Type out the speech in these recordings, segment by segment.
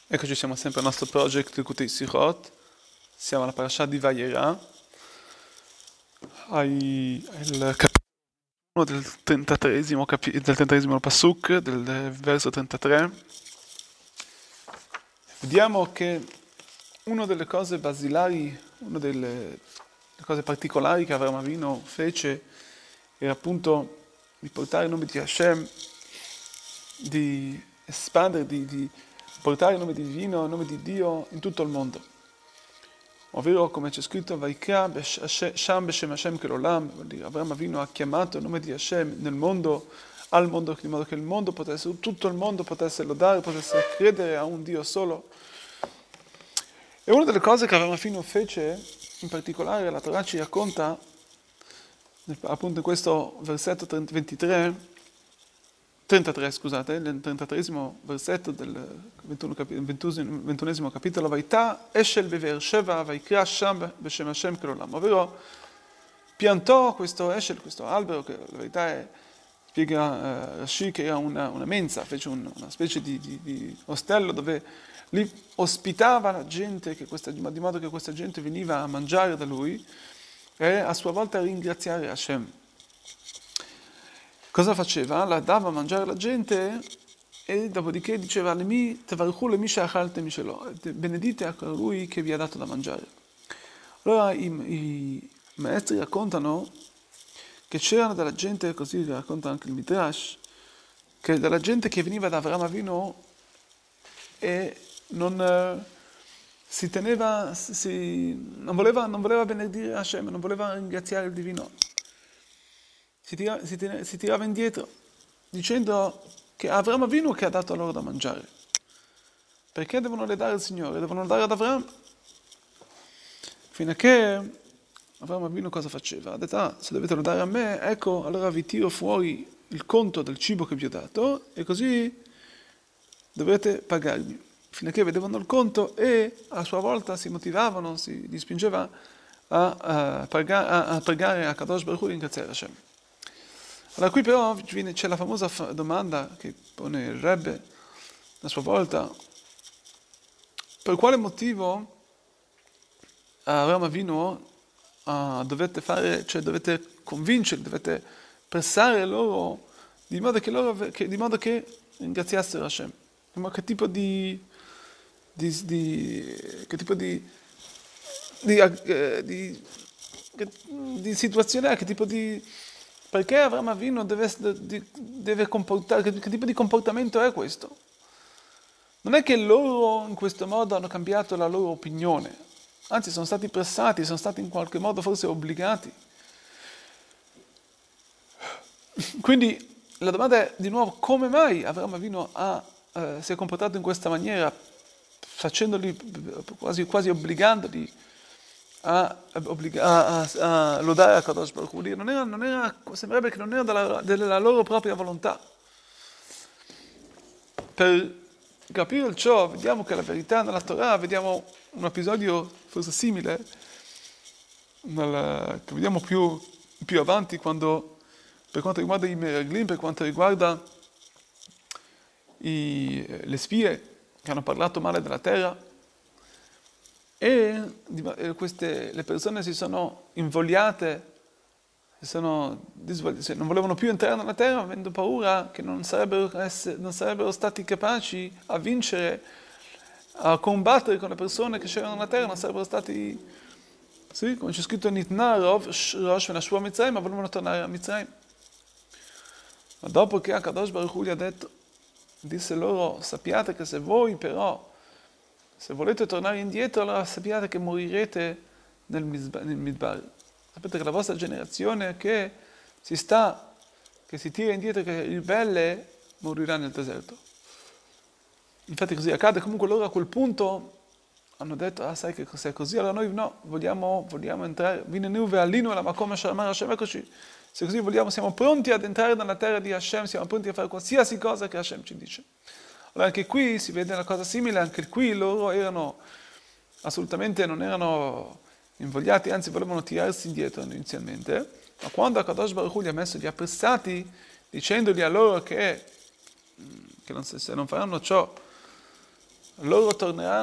Eccoci, siamo sempre al nostro project Likutei Sichot. Siamo alla parasha di Vayera, al capitolo del 33esimo, del 33esimo pasuk, del verso 33. Vediamo che una delle cose basilari, una delle cose particolari che Avraham Avinu fece era appunto di portare il nome di Hashem, di espandere, di portare il nome divino, il nome di Dio in tutto il mondo. Ovvero, come c'è scritto, Vaikra Sham Beshem Hashem Kelolam, Avraham Avinu ha chiamato il nome di Hashem nel mondo, al mondo, in modo che il mondo potesse, tutto il mondo potesse lodare, potesse credere a un Dio solo. E una delle cose che Avraham Avinu fece, in particolare la Torah ci racconta, appunto in questo versetto 33, scusate, nel 33esimo versetto del 21esimo capitolo, Vaità Eshel Bever Sheva Vaikra Sham Beshem Hashem Kelolam, ovvero piantò questo Eshel, questo albero, che la verità è, spiega Rashi, che era una mensa, fece una specie di ostello dove lì ospitava la gente, di modo che questa gente veniva a mangiare da lui e a sua volta a ringraziare Hashem. Cosa faceva? La dava a mangiare alla gente e dopodiché diceva benedite a colui che vi ha dato da mangiare. Allora i maestri raccontano che c'erano della gente, così racconta anche il Midrash, che della gente che veniva da Avraham Avinu e non si teneva, non voleva benedire Hashem, non voleva ringraziare il divino. Si tirava indietro, dicendo che Avraham Avinu che ha dato loro da mangiare. Perché devono le dare al Signore? Devono dare ad Avraham. Fino a che Avraham Avinu cosa faceva? Ha detto, se dovete lo dare a me, ecco, allora vi tiro fuori il conto del cibo che vi ho dato e così dovete pagarmi. Fino a che vedevano il conto e a sua volta si motivavano, li spingeva a pregare a Kadosh Baruch Hu e ringraziare Hashem. Allora qui però c'è la famosa domanda che pone il Rebbe a sua volta: per quale motivo Avraham Avinu dovete convincerli, dovete pressare loro di modo che ringraziassero Hashem? Ma che tipo di situazione è? Che tipo di... Perché Avraham Avinu deve comportare, che tipo di comportamento è questo? Non è che loro in questo modo hanno cambiato la loro opinione, anzi sono stati pressati, sono stati in qualche modo forse obbligati. Quindi la domanda è di nuovo: come mai Avraham Avinu si è comportato in questa maniera, facendoli quasi obbligandoli a lodare a Kadosh Baruch Hu? Sembrerebbe che non era della loro propria volontà. Per capire ciò, vediamo che la verità nella Torah, vediamo un episodio forse simile, che vediamo più avanti, quando, per quanto riguarda i Meraglim, per quanto riguarda le spie che hanno parlato male della terra, e le persone si sono invogliate, non volevano più entrare nella terra, avendo paura che non sarebbero stati capaci a vincere, a combattere con le persone che c'erano nella terra, non sarebbero stati, sì, come c'è scritto Nitna Rov Rosh Venashua Mitzrayim, ma volevano tornare a Mitzrayim. Ma dopo che Akadosh Baruch Hu gli ha detto, disse loro: sappiate che se volete tornare indietro, allora sappiate che morirete nel Midbar. Sapete che la vostra generazione che si tira indietro, che è ribelle, morirà nel deserto. Infatti così accade. Comunque loro a quel punto hanno detto: sai che se è così, allora noi no, vogliamo entrare, eccoci, se così siamo pronti ad entrare nella terra di Hashem, siamo pronti a fare qualsiasi cosa che Hashem ci dice. Allora anche qui si vede una cosa simile, anche qui loro non erano invogliati, anzi volevano tirarsi indietro inizialmente, ma quando Akadosh Baruch Hu li ha pressati, dicendogli a loro che se non faranno ciò, loro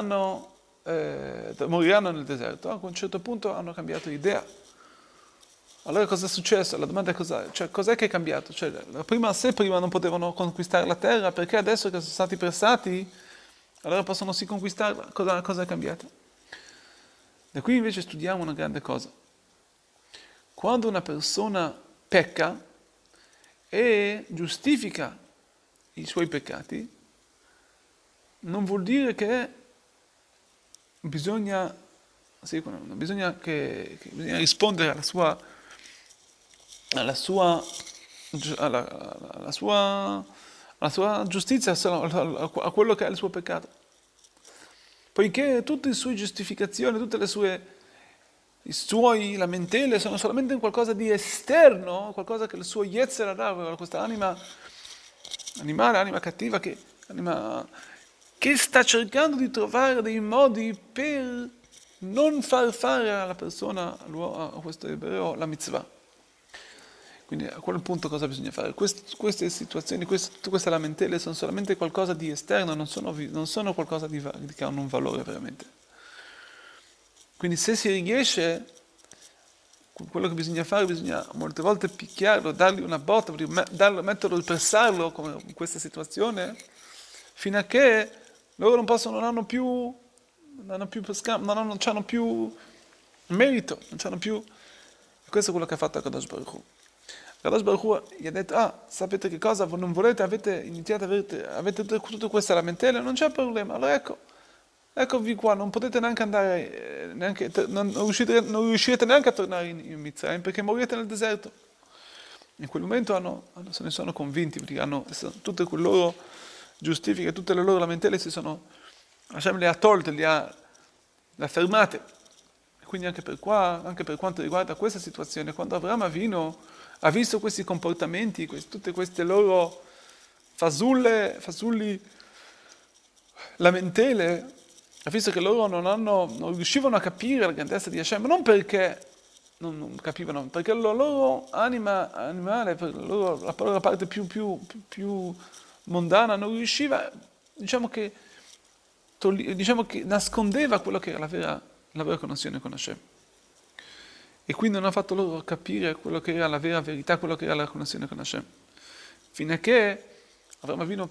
moriranno nel deserto. A un certo punto hanno cambiato idea. Allora cosa è successo? La domanda è cos'è che è cambiato? Se prima non potevano conquistare la terra, perché adesso che sono stati pressati, allora possono sì conquistarla? Cosa è cambiato? Da qui invece studiamo una grande cosa. Quando una persona pecca e giustifica i suoi peccati, non vuol dire che bisogna rispondere alla sua giustizia, a quello che è il suo peccato. Poiché tutte le sue giustificazioni, tutte i suoi lamentele sono solamente qualcosa di esterno, qualcosa che il suo Yetzer Hara, questa anima animale, anima cattiva, che sta cercando di trovare dei modi per non far fare alla persona, a questo ebreo, la mitzvah. Quindi a quel punto cosa bisogna fare? Queste situazioni, queste lamentele sono solamente qualcosa di esterno, non sono qualcosa che hanno un valore veramente. Quindi se si riesce, quello che bisogna fare, bisogna molte volte picchiarlo, dargli una botta, metterlo, pressarlo come in questa situazione, fino a che loro non hanno più merito, non hanno più. E questo è quello che ha fatto Akadosh Baruch Hu. Akadosh Baruch Hu gli ha detto, sapete che cosa? Voi non volete, avete tutte queste lamentele, non c'è problema, allora eccovi qua, non potete neanche andare, non riuscirete neanche a tornare in Mitzrayim perché morirete nel deserto. In quel momento se ne sono convinti, perché tutte le loro giustifiche, tutte le loro lamentele Hashem le ha tolte, le ha fermate. E quindi anche per quanto riguarda questa situazione, quando Avraham Avinu ha visto questi comportamenti, tutte queste loro fasulli lamentele, ha visto che loro non riuscivano a capire la grandezza di Hashem, non perché non capivano, perché la loro anima animale, la loro parte più mondana non riusciva, diciamo che nascondeva quello che era la vera connessione con Hashem. E quindi non ha fatto loro capire quello che era la vera verità, quello che era la connessione con Hashem. Fino a che Avraham Avinu,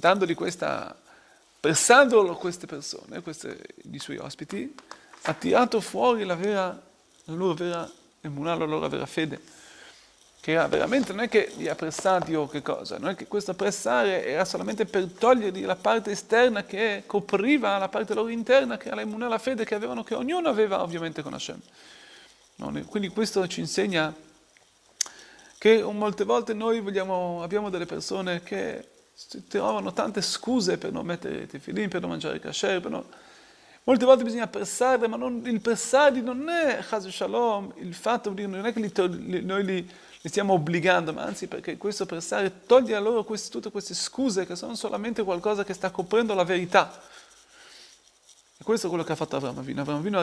pressandolo queste persone, i suoi ospiti, ha tirato fuori la loro vera emunah, la loro vera fede. Che era veramente, non è che li ha pressati o che cosa, non è che questo pressare era solamente per togliergli la parte esterna che copriva la parte loro interna, che era la emunah, la fede che ognuno aveva ovviamente con Hashem. Quindi questo ci insegna che molte volte noi abbiamo delle persone che trovano tante scuse per non mettere i tefillin, per non mangiare kasher, molte volte bisogna pressarli, ma il pressarli non è chas shalom, il fatto di non è che noi li stiamo obbligando, ma anzi perché questo pressare toglie a loro tutte queste scuse che sono solamente qualcosa che sta coprendo la verità. E questo è quello che ha fatto Avraham Avinu. Avraham Avinu ha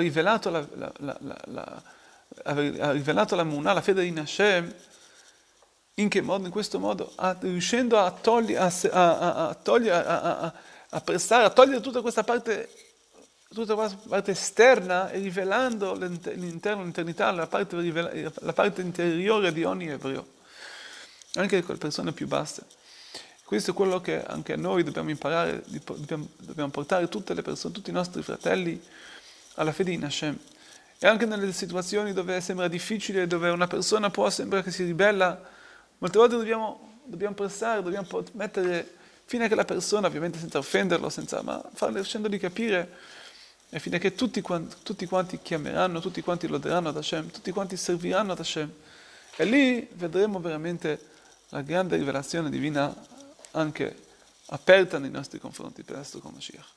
rivelato la emunah, la fede in Hashem. In che modo? In questo modo, riuscendo a pressare, a togliere tutta questa parte esterna e rivelando l'internità, la parte interiore di ogni ebreo, anche le persone più basse. Questo è quello che anche noi dobbiamo imparare, dobbiamo portare tutte le persone, tutti i nostri fratelli alla fede in Hashem. E anche nelle situazioni dove sembra difficile, dove una persona sembra che si ribella, molte volte dobbiamo pressare, dobbiamo mettere fino a che la persona, ovviamente senza offenderlo, ma facendogli capire, e fino a che tutti quanti chiameranno, tutti quanti loderanno ad Hashem, tutti quanti serviranno ad Hashem. E lì vedremo veramente la grande rivelazione divina anche aperta nei nostri confronti per essere con Mashiach.